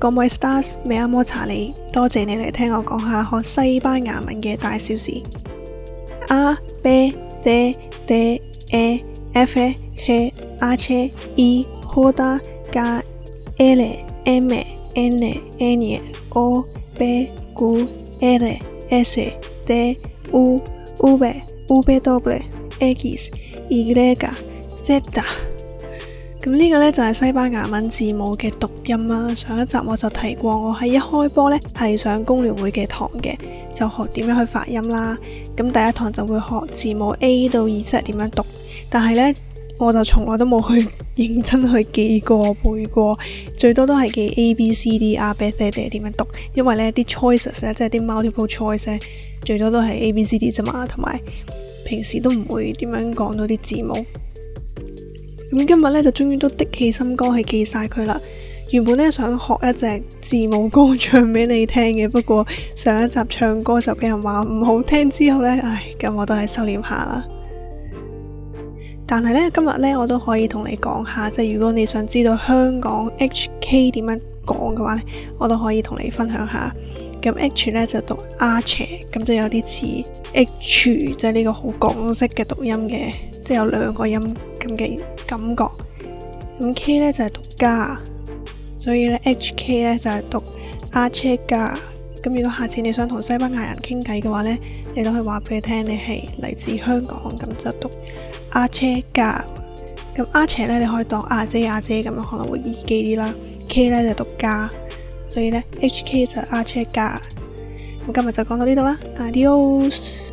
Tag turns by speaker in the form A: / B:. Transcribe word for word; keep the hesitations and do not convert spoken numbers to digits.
A: Como estás? Me llamo Charlie，多謝你嚟聽我講下學西班牙文嘅大小事。A B D D E F G H I J K L M N N O P Q R S T U V W X Y Z。咁呢個呢，就係西班牙文字母嘅讀音啦。上一集我就提過，我喺一開波呢係上工聯會嘅堂嘅，就學點樣去發音啦。咁第一堂就會學字母 A 到 Z 點樣讀，但係呢，我就從來都冇去認真去記過背過，最多都係記 A B C D R B C D 點樣讀，因為呢啲 choices 呢，即係啲 multiple choice 呢，最多都係 A B C D 啫嘛，同埋平時都唔會點樣講到啲字母。咁今日咧就終於都的起心肝去記晒佢啦。原本咧想學一隻字母歌唱俾你聽嘅，不過上一集唱歌就俾人話唔好聽之後呢，唉，咁我都係收斂下啦。但係呢，今日呢，我都可以同你講下，即係如果你想知道香港 H K 點樣講嘅話呢，我都可以同你分享下。咁 H 呢就讀 Arch， 咁就有啲似 H， 即係呢個好港式嘅讀音嘅，即係有兩個音咁嘅感覺。咁 K 呢就係讀加，所以呢 H K 呢就係讀 Arch 加。咁如果下次你想同西班牙人傾偈嘅話呢，你都可以話俾佢聽你係嚟自香港，咁就讀 Arch 加。咁 Arch 呢你可以當阿姐阿姐咁樣可能會易記啲啦。K 呢就讀加。所以呢 H K 就係 Arch 加。咁今日就講到呢度啦 ，Adios。